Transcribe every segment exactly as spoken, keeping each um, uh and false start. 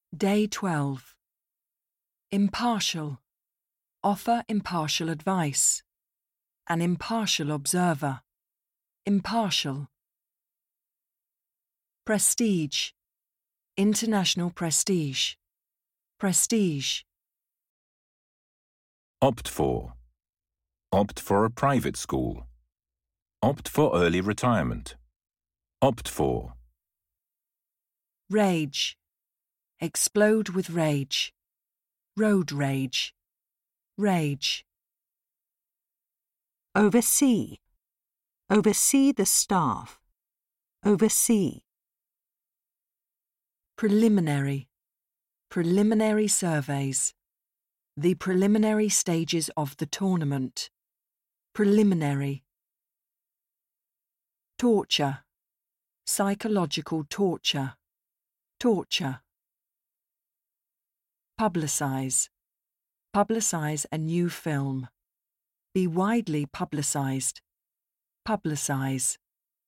Day twelve. Impartial. Offer impartial advice. An impartial observer. Impartial. Prestige. International prestige. Prestige. Opt for. Opt for a private school. Opt for early retirement. Opt for. Rage. Explode with rage. Road rage. Rage. Oversee. Oversee the staff. Oversee. Preliminary. Preliminary surveys. The preliminary stages of the tournament. Preliminary. Torture. Psychological torture. Torture. Publicise. Publicise a new film. Be widely publicised. Publicise.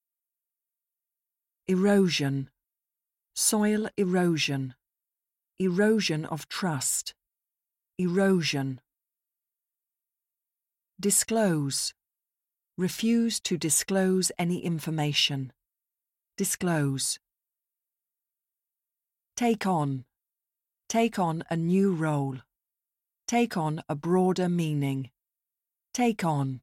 Erosion. Soil erosion. Erosion of trust. Erosion. Disclose. Refuse to disclose any information. Disclose. Take on. Take on a new role. Take on a broader meaning. Take on.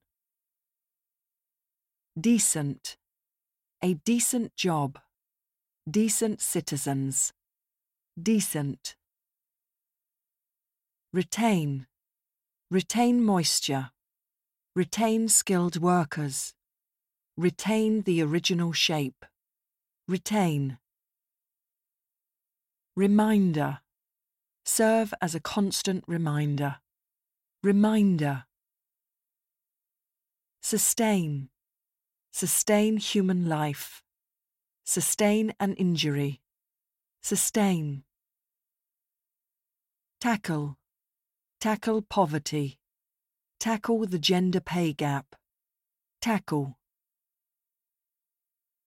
Decent. A decent job. Decent citizens. Decent. Retain. Retain moisture. Retain skilled workers. Retain the original shape. Retain. Reminder. Serve as a constant reminder. Reminder. Sustain. Sustain human life. Sustain an injury. Sustain. Tackle. Tackle poverty. Tackle the gender pay gap. Tackle.